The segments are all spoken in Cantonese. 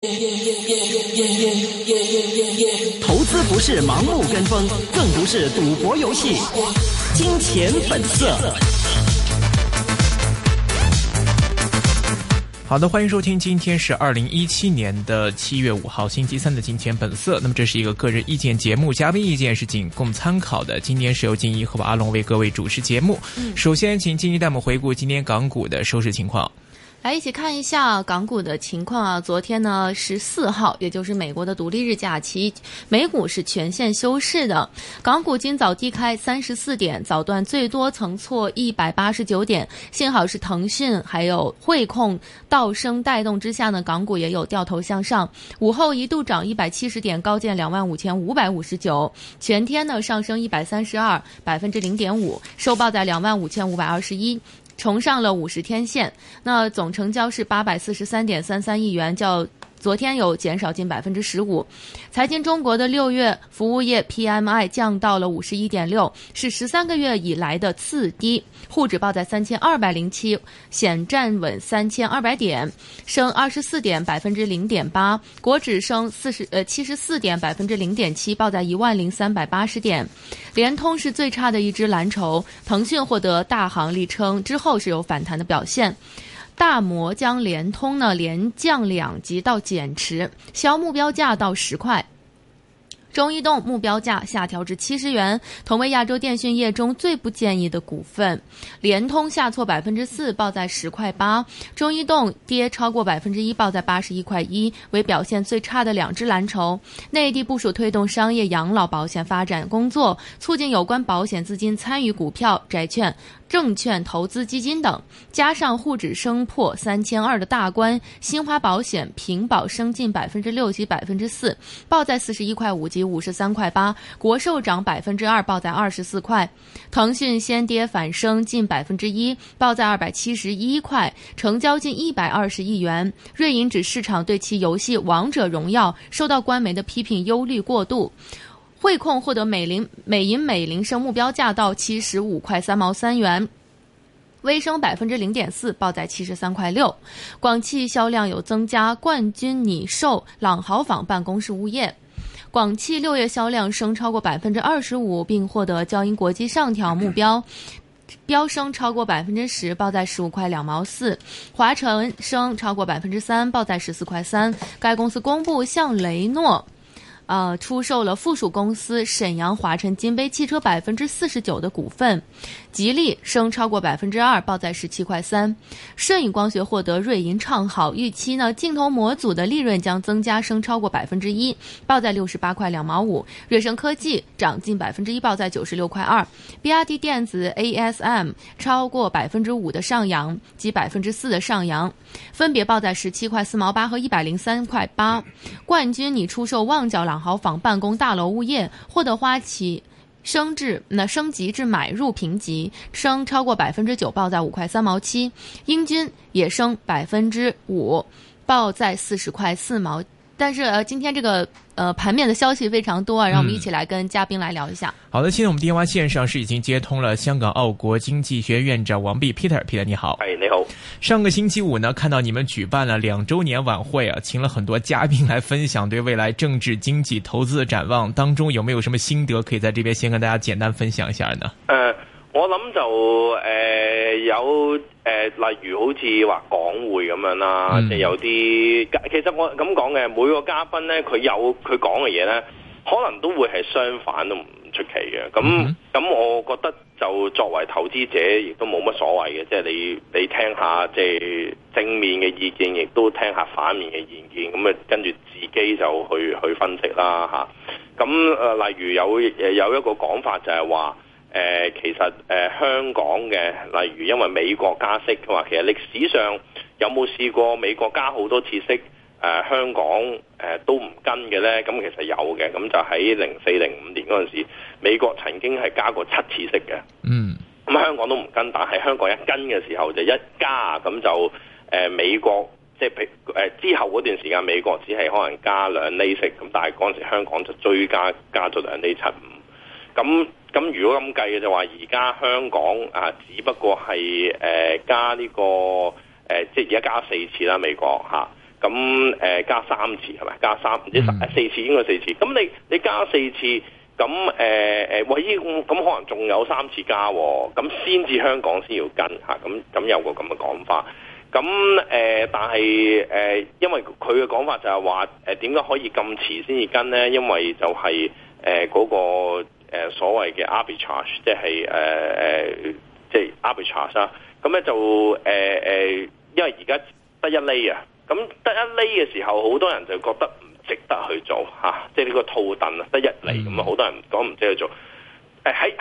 投资不是盲目跟风，更不是赌博游戏。金钱本色。 好的，欢迎收听，今天是2017年的7月5号星期三的金钱本色。那么这是一个个人意见节目，嘉宾意见是仅供参考的。今天是由金一和阿龙为各位主持节目。首先请金一带我们回顾今天港股的收市情况。 来一起看一下港股的情况啊！昨天呢14号，也就是美国的独立日假期，美股是全线休市的。港股今早低开34点，早段最多曾挫189点，幸好是腾讯还有汇控倒升带动之下呢，港股也有掉头向上。午后一度涨170点，高见25,559，全天呢上升132%， 0.5%，收报在25,521。重上了50天线，那总成交是843.33亿元，较昨天有减少近15%。财经中国的6月服务业 PMI 降到了51.6，是13个月以来的次低，沪指报在3207，险站稳3200点，升24点0.8%，国指升74点0.7%，报在10380点。联通是最差的一只蓝筹，腾讯获得大行力撑之后是有反弹的表现。大摩将联通呢连降2级到减持，销目标价到10块。中移动目标价下调至70元，同为亚洲电讯业中最不建议的股份。联通下挫4%，报在10块8。中移动跌超过1%，报在81块1，为表现最差的2只蓝筹。内地部署推动商业养老保险发展工作，促进有关保险资金参与股票、债券、证券投资基金等，加上沪指升破3200的大关，新华保险平保升近6%及4%，报在41块5及53块8，国寿涨2%，报在24块。腾讯先跌反升近1%，报在271块，成交近120亿元。瑞银指市场对其游戏《王者荣耀》受到官媒的批评忧虑过度。汇控获得美银美林升目标价到75块3毛3元，微升0.4%，报在73块6。广汽销量有增加，冠军拟售朗豪坊办公室物业。广汽6月销量升超过25%，并获得交银国际上调目标。飙升超过10%，报在15块2毛4。华晨升超过3%，报在14块3。该公司公布向雷诺出售了附属公司沈阳华晨金杯汽车49%的股份。吉利升超过2%，报在17块3。舜宇光学获得瑞银唱好，预期呢镜头模组的利润将增加，升超过1%，报在68块2毛5。瑞声科技涨近1%，报在96块2。比亚迪电子 ASM 超过5%的上扬及4%的上扬，分别报在17块4毛8和103块8。冠军拟出售旺角朗豪坊办公大楼物业，获得花旗升级至买入评级，升超过9%，报在5块3毛7。英军也升5%，报在40块4毛。但是今天这个盘面的消息非常多啊，让我们一起来跟嘉宾来聊一下。 好的，现在我们电话线上是已经接通了香港澳国经济学院院长王弼 Peter 你好。 你好。 上个星期五呢，看到你们举办了2周年晚会啊，请了很多嘉宾来分享对未来政治、经济、投资的展望，当中有没有什么心得可以在这边先跟大家简单分享一下呢？ 我諗就有例如好似話港匯咁樣啦，即係有啲其實我咁講嘅，每個嘉賓咧佢有佢講嘅嘢咧，可能都會係相反都唔出奇嘅。咁我覺得就作為投資者亦都冇乜所謂嘅，即係你聽下即係正面嘅意見，亦都聽下反面嘅意見，咁啊跟住自己就去分析啦嚇。咁例如有一個講法就係話。其實香港嘅，例如因為美國加息嘅話，其實歷史上有冇試過美國加好多次息，香港都唔跟嘅呢？咁其實有嘅，咁就喺04-05年嗰陣時，美國曾經係加過7次息嘅。咁香港都唔跟，但係香港一跟嘅時候就一加，咁就美國即係之後嗰段時間，美國只係可能加2厘息，咁但係嗰陣時香港就追加咗2厘75。咁如果咁計嘅就話，而家香港只不過係加呢個即係而家加4次啦，美國嚇。 咁加3次係咪？加唔知4次應該4次。咁你加4次，咁咁可能仲有3次加，咁先至香港先要跟嚇。咁有個咁嘅講法。咁但係因為佢嘅講法就係話點解可以咁遲先至跟呢？因為就係嗰個所謂嘅 arbitrage， 即係 arbitrage 啦。咁咧就因為而家得1厘啊，咁得1厘嘅時候，好多人就覺得唔值得去做嚇，即係呢個套戥啊，得1厘咁啊，好多人講唔值得去做。喺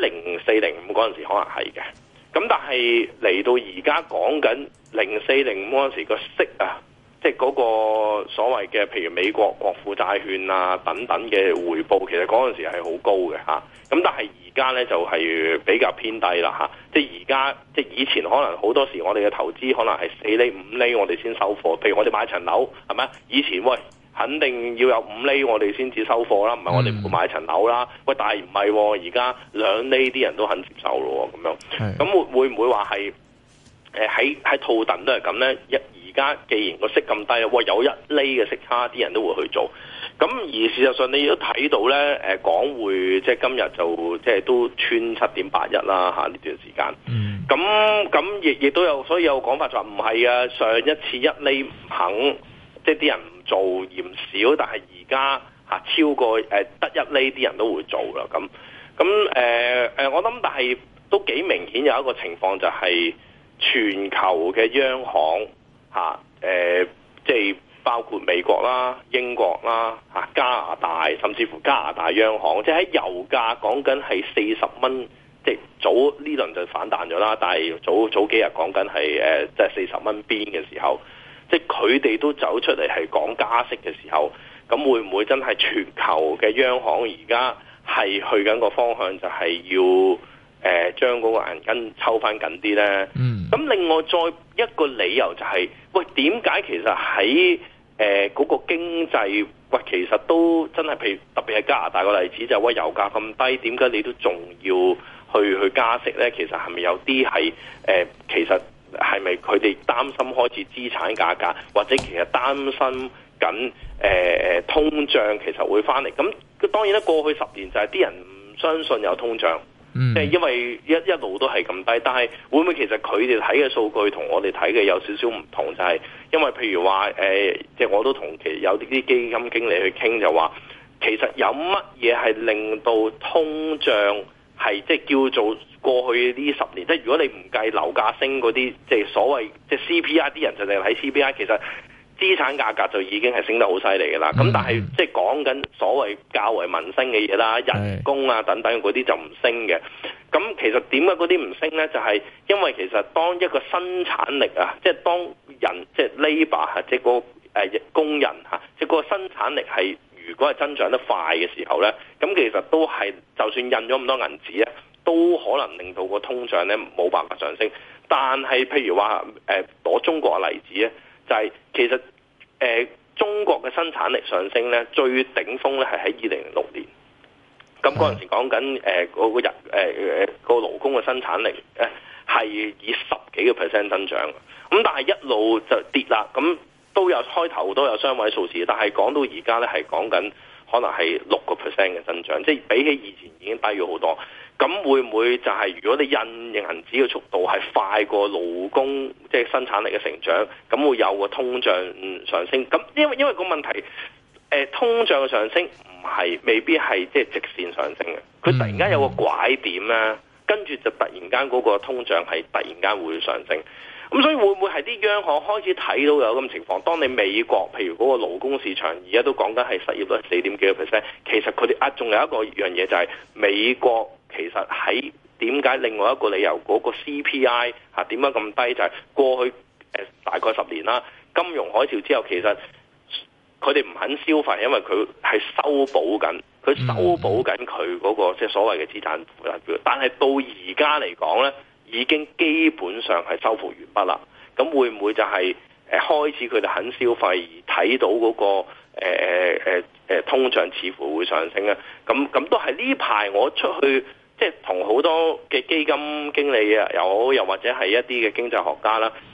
0405嗰陣時可能係嘅，咁但係嚟到而家講緊0405嗰陣時個息啊，即係嗰個所謂嘅譬如美國國庫債券啊等等嘅回報，其實嗰陣時係好高嘅嚇。咁但係而家咧就係比較偏低啦嚇。即係而家即係以前可能好多時我哋嘅投資可能係4厘5厘我哋先收貨，譬如我哋買層樓係咪？以前喂肯定要有5厘我哋先至收貨啦，唔係我哋唔會買層樓啦。喂，但係唔係而家2厘啲人都肯接受咯咁樣。咁會唔會話係喺套戥都係咁咧？而家既然個息咁低，喂有1厘嘅息差，啲人都會去做。咁而事實上你都睇到咧，港匯即係今日就即係都穿7.81啦嚇呢段時間。咁亦都有，所以有講法就話唔係啊，上一次1厘唔肯，即係啲人唔做嫌少，但係而家超過得1厘啲人都會做啦。咁我諗，但係都幾明顯有一個情況就係全球嘅央行即係包括美國啦、英國啦、加拿大，甚至乎加拿大央行，即係喺油價講緊係40蚊，即係早呢輪就反彈咗啦。但係早幾日講緊係即係40蚊邊嘅時候，即係佢哋都走出嚟係講加息嘅時候，咁會唔會真係全球嘅央行而家係去緊個方向，就係要將嗰個銀根抽翻緊啲呢？咁另外再一個理由就係，喂點解其實喺嗰個經濟，喂其實都真係，譬如特別係加拿大個例子，就係喂油價咁低，點解你都仲要去加息呢？其實係咪有啲係其實係咪佢哋擔心開始資產價格，或者其實擔心緊通脹其實會翻嚟？咁當然啦，過去10年就係啲人唔相信有通脹。即係因為一路都係咁低，但係會唔會其實佢哋睇嘅數據同我哋睇嘅有少少唔同？就係因為譬如話即係我都同有啲基金經理去傾，就話其實有乜嘢係令到通脹係即係叫做過去呢10年，即係如果你唔計樓價升嗰啲，即係所謂即係 CPI， 啲人就淨係睇 CPI， 其實資產價格就已經係升得好犀利嘅啦。咁但係即係講緊所謂較為民生嘅嘢啦，人工啊等等嗰啲就唔升嘅。咁其實點解嗰啲唔升呢？就係因為其實當一個生產力啊，即係當人即係 labour 即係個工人即係個生產力係如果係增長得快嘅時候呢，咁其實都係就算印咗咁多銀紙咧，都可能令到個通脹呢冇辦法上升。但係譬如話攞中國嘅例子咧，就係其實中國嘅生產力上升咧，最頂峰咧係喺2006年。咁嗰陣時講緊個勞工嘅生產力係以10幾個% 增長。咁但係一路就跌啦。咁都有開頭都有雙位數字，但係講到而家咧係講緊可能係6% 嘅增長，即係比起以前已經低咗好多。咁會唔會就係如果你印銀紙嘅速度係快過勞工即係生產力嘅成長，咁會有個通脹上升？咁因為個問題，通脹嘅上升未必係即係直線上升嘅，佢突然間有個拐點咧，跟住就突然間嗰個通脹係突然間會上升。咁所以會唔會係啲央行開始睇到有咁情況？當你美國譬如嗰個勞工市場而家都講緊係失業率4點幾個%，其實佢哋仲有一個樣嘢就係美國其實喺點解另外一個理由嗰個 CPI 點解咁低？就係過去大概10年啦，金融海嘯之後其實佢哋唔肯消費，因為佢係修補緊佢嗰個即係所謂嘅資產負債表。但係到而家嚟講咧，已經基本上係收復完畢啦。咁會唔會就係開始佢哋肯消費而睇到嗰個通脹似乎會上升咧？咁都係呢排我出去即係同好多嘅基金經理啊又好，又或者係一啲嘅經濟學家啦，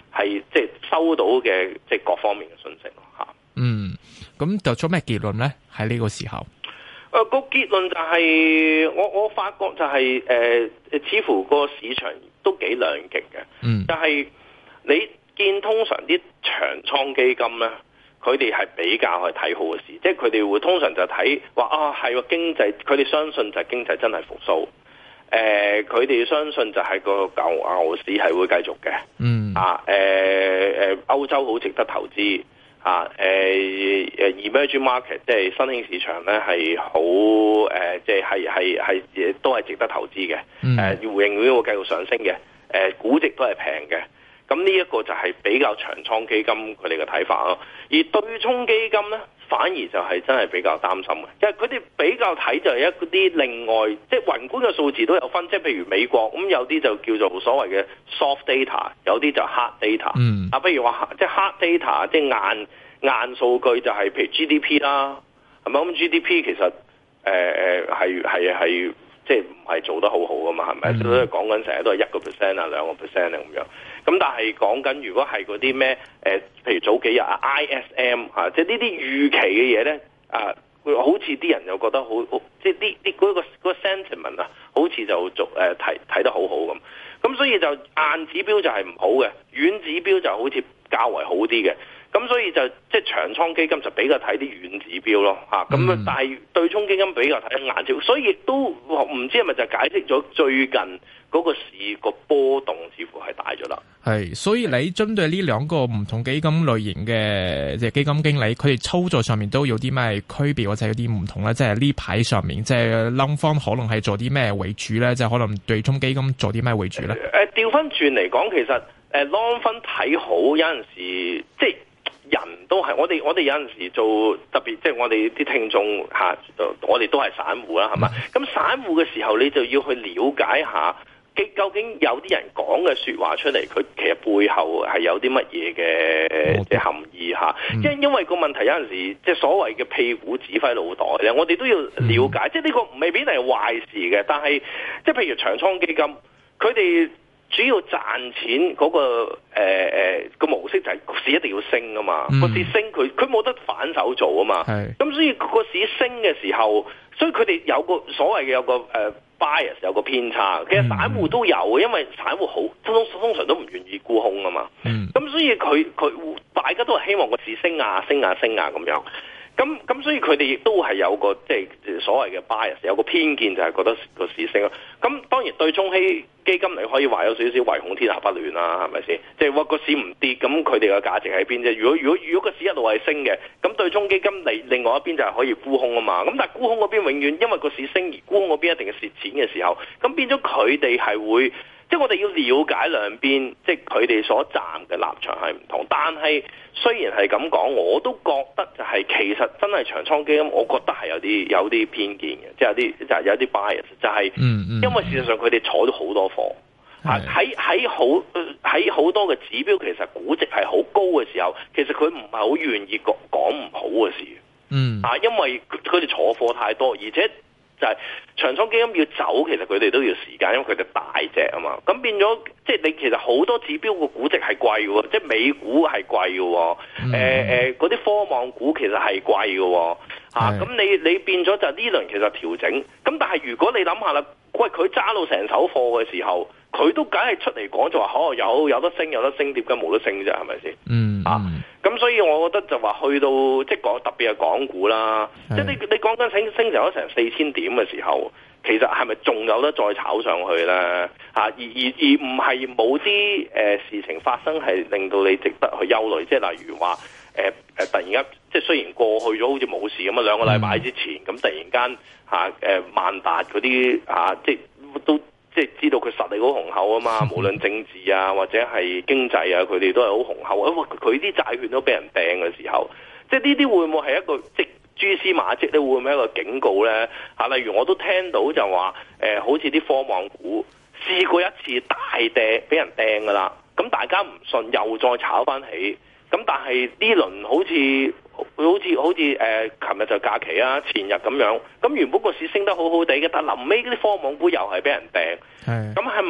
係即係收到嘅即係各方面嘅信息咯嚇。 咁得出咩結論咧？喺呢個時候， 個結論就係、我發覺就係、似乎個市場都幾兩極嘅。就係你見通常啲長倉基金咧，佢哋係比較去睇好嘅事，即係佢哋會通常就睇話係個經濟，佢哋相信就係經濟真係復甦。佢哋相信就係個牛市係會繼續嘅。歐洲好值得投資。emerging market 即係新興市場咧係好即係都係值得投資嘅。永遠會繼續上升嘅。估值都係平嘅。咁呢一個就係比較長倉基金佢哋嘅睇法咯。而對沖基金咧，反而就係真係比較擔心嘅，因為佢哋比較睇就係一啲另外即係宏觀嘅數字都有分，即係譬如美國咁有啲就叫做所謂嘅 soft data， 有啲就 hard data。譬如話即係 hard data， 即係硬數據就係譬如 GDP 啦，係咪咁 GDP 其實係即係唔係做得好好噶嘛？係咪？都係講緊成日都係1% 啊2% 咁樣。咁但係講緊如果係嗰啲咩譬如早幾日ISM 即係呢啲預期嘅嘢咧好似啲人又覺得好即係嗰個 sentiment 好似就睇得好好咁。咁所以就硬指標就係唔好嘅，軟指標就好似較為好啲嘅。咁所以就即係長倉基金就比較睇啲軟指標咯咁但係對沖基金比較睇硬指標，所以亦都唔知係咪就解釋咗最近嗰個市個波動似乎係大咗啦。 係，所以你針對呢兩個唔同基金類型嘅即係基金經理，佢哋操作上面都有啲咩區別或者有啲唔同咧？即係呢排上面，即係 long 方可能係做啲咩為主咧？即係可能對沖基金做啲咩為主咧？ 調翻轉嚟講，其實long 分睇好有陣時即係。人都係我哋有陣時做特別，即係我哋啲聽眾我哋都係散戶啦，係嘛？咁散戶嘅時候，你就要去了解下，究竟有啲人講嘅説話出嚟，佢其實背後係有啲乜嘢嘅即係含義嚇。因為個問題有陣時，即係所謂嘅屁股指揮腦袋咧，我哋都要了解。即係呢個未必係壞事嘅，但係即係譬如長倉基金，佢哋主要賺錢嗰個模式就係個市一定要升啊嘛，個市升佢冇得反手做啊嘛，咁所以個市升嘅時候，所以佢哋有個所謂嘅有個bias 有個偏差，其實散戶都有嘅，因為散戶好通常都唔願意沽空啊嘛，咁所以佢大家都係希望個市升啊咁樣。咁所以佢哋亦都係有個即係所謂嘅 bias， 有個偏見就係覺得個市升咯。咁當然對沖基金你可以話有少少唯恐天下不亂啦，係咪先？即係話個市唔跌，咁佢哋嘅價值喺邊啫？如果個市一路係升嘅，咁對沖基金另外一邊就係可以沽空啊嘛。咁但係沽空嗰邊永遠因為個市升而沽空嗰邊一定係蝕錢嘅時候，咁變咗佢哋係會。即係我哋要了解兩邊，即係佢哋所站嘅立場係唔同。但係雖然係咁講，我都覺得就係其實真係長倉基金，我覺得係有啲偏見嘅，即係有啲 bias， 就係因為事實上佢哋坐咗好多貨，喺好多嘅指標，其實估值係好高嘅時候，其實佢唔係好願意講唔好嘅事。因為佢哋坐貨太多，而且。就係長倉基金要走，其實佢哋都要時間，因為佢哋大隻啊嘛。咁變咗，即係你其實好多指標個估值係貴嘅，即係美股係貴嘅，嗰啲科網股其實係貴嘅。咁你變咗就呢輪其實調整。咁但係如果你諗下啦，喂，佢揸到成手貨嘅時候，佢都梗係出嚟講就話，有得升，點解冇得升啫？係咪先？咁所以我覺得就話去到即係特別係港股啦，即係你講緊升咗成4000點嘅時候，其實係咪仲有得再炒上去咧？而唔係冇啲事情發生係令到你值得去憂慮，即係例如話突然間即係雖然過去咗好似冇事咁啊，2個禮拜之前咁突然間萬達嗰啲即係都。即係知道佢實力好雄厚啊嘛，無論政治啊或者係經濟啊，佢哋都係好雄厚。佢啲債券都俾人掟嘅時候，即係呢啲會唔會係一個即蛛絲馬跡咧？會唔會係一個警告咧？例如我都聽到就話好似啲科網股試過一次大掟俾人掟㗎啦，咁大家唔信又再炒翻起，咁但係呢輪好似琴日就假期啊，前日咁樣，咁原本個市升得好好地嘅，但臨尾嗰啲科網股又係俾人掟，咁係咪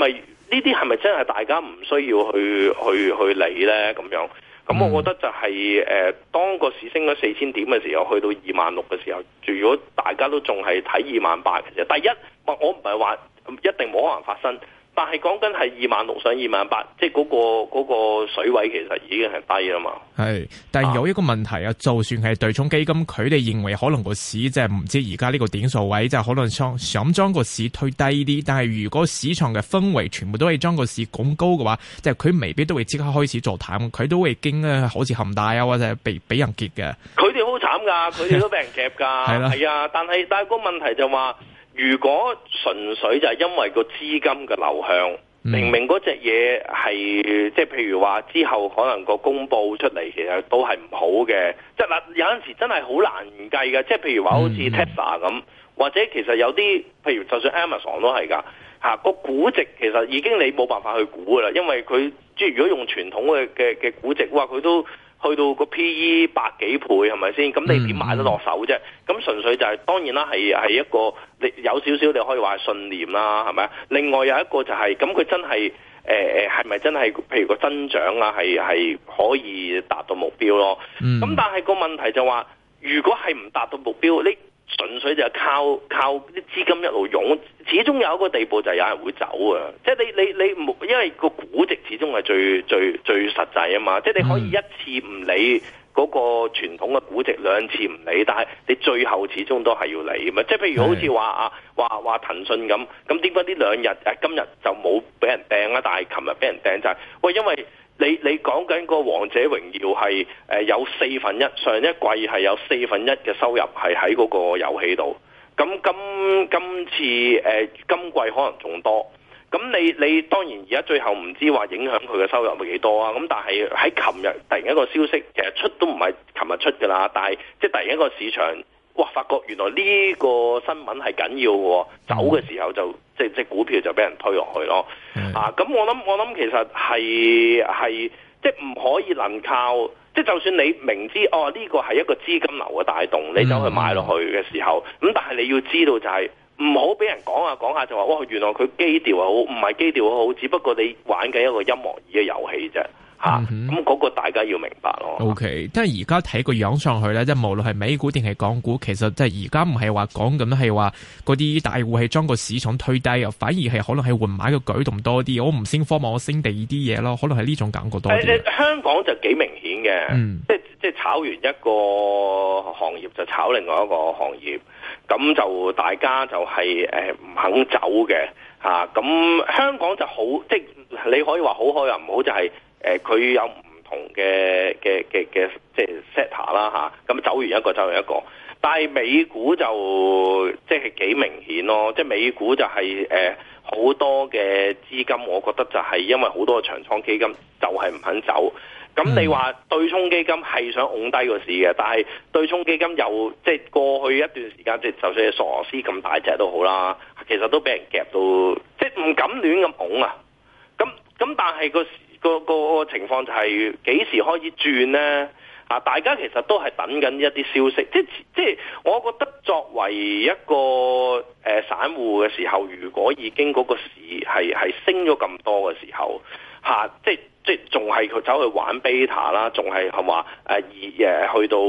呢啲係咪真係大家唔需要去理咧？咁樣，咁我覺得就係當個市升咗4000點嘅時候，去到26000嘅時候，如果大家都仲係睇28000嘅時候，第一，我唔係話一定冇可能發生。但係講緊係26000上28000，即係嗰個水位其實已經係低啦嘛。係， 但係有一個問題啊，就算係對沖基金，佢哋認為可能個市即係唔知而家呢個點數位，即係可能想將個市推低啲。但係如果市場嘅氛圍全部都係將個市拱高嘅話，即係佢未必都會即刻開始做淡，佢都會驚咧，好似恒大啊或者俾人劫嘅。佢哋好慘㗎，佢哋都俾人夾㗎。係啊，但係個問題就話。 如果純粹就係因為個資金嘅流向，明明嗰隻嘢係即係譬如話之後可能個公佈出嚟，其實都係唔好嘅。即係嗱，有陣時真係好難計嘅。即係譬如話好似 Tesla 咁，或者其實有啲譬如就算 Amazon 都係㗎嚇，個估值其實已經你冇辦法去估㗎啦，因為佢即係如果用傳統嘅估值，哇佢都去到個 P/E 百幾倍係咪先？咁你點買得落手啫？咁純粹就係當然啦，係一個你有少少你可以話係信念啦，係咪啊？另外有一個就係咁佢真係係咪真係譬如個增長啊係可以達到目標咯？咁但係個問題就話，如果係唔達到目標，你純粹就係靠啲資金一路湧，始終有一個地步就係有人會走啊！即係你因為個估值始終係最實際啊嘛！即係你可以一次唔理嗰個傳統嘅估值，兩次唔理，但係你最後始終都係要理啊嘛！即係譬如好似話騰訊咁點解呢兩日今日就冇俾人掟啊？但係琴日俾人掟就係喂，因為你講緊個王者榮耀係有1/4，上一季係有1/4嘅收入係喺嗰個遊戲度，咁今次今季可能仲多，咁你當然而家最後唔知話影響佢嘅收入係幾多啊？咁但係喺琴日突然一個消息，其實出都唔係琴日出㗎啦，但係即係突然一個市場，哇！發覺原來呢個新聞係緊要嘅，走嘅時候就即股票就俾人推落去咯。咁我諗其實係即係唔可以能靠，即係就算你明知呢個係一個資金流嘅帶動，你走去買落去嘅時候，咁但係你要知道就係唔好俾人講下就話哇，原來佢基調好，唔係基調好，只不過你玩緊一個音樂椅嘅遊戲啫。咁嗰個大家要明白咯。 OK， 但係而家睇個樣上去咧，即係無論係美股定係港股，其實即係而家唔係話講緊係話嗰啲大戶係將個市場推低啊，反而係可能係換買嘅舉動多啲。我唔升科網，我升第二啲嘢咯，可能係呢種感覺多啲。 香港就幾明顯嘅，即係炒完一個行業就炒另外一個行業，咁就大家就係唔肯走嘅嚇。咁香港就好，即係你可以話好開又唔好，就係。佢有唔同嘅即係 sector 啦嚇，咁走完一個，但係美股就即係幾明顯咯，即係美股就係好多嘅資金，我覺得就係因為好多嘅長倉基金就係唔肯走，咁你話對沖基金係想拱低個市嘅，但係對沖基金又即係過去一段時間，即係就算係索羅斯咁大隻都好啦，其實都俾人夾到，即係唔敢亂咁拱啊，咁但係個情況就係幾時開始轉呢？大家其實都係等緊一啲消息，即係我覺得作為一個散戶嘅時候，如果已經嗰個市係升咗咁多嘅時候，即係仲係佢走去玩 beta 啦，仲係話去到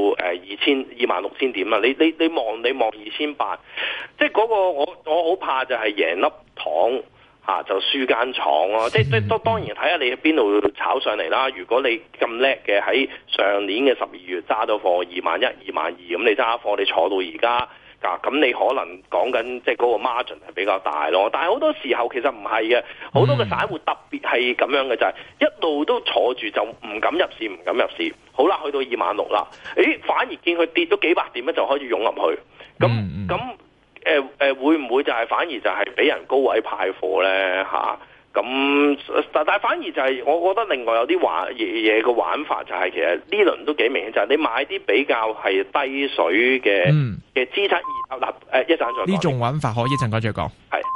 26000點啦，你望2800，即係嗰個我好怕就係贏粒糖。就輸間廠咯，即係當然睇下你喺邊度炒上嚟啦。如果你咁叻嘅喺上年嘅12月揸咗貨21000、22000，咁你揸貨你坐到而家，咁你可能講緊即係嗰個 margin 係比較大咯。但係好多時候其實唔係嘅，好多嘅散戶特別係咁樣嘅就係一路都坐住就唔敢入市，好啦，去到26000啦，反而見佢跌咗幾百點咧就開始湧入去，咁。會唔會就係反而就係俾人高位派貨咧嚇？但係反而就係我覺得另外有啲嘢嘅玩法就係其實呢輪都幾明顯，就係你買啲比較係低水嘅資產，一陣再講。 呢種玩法可以一陣間再講。係。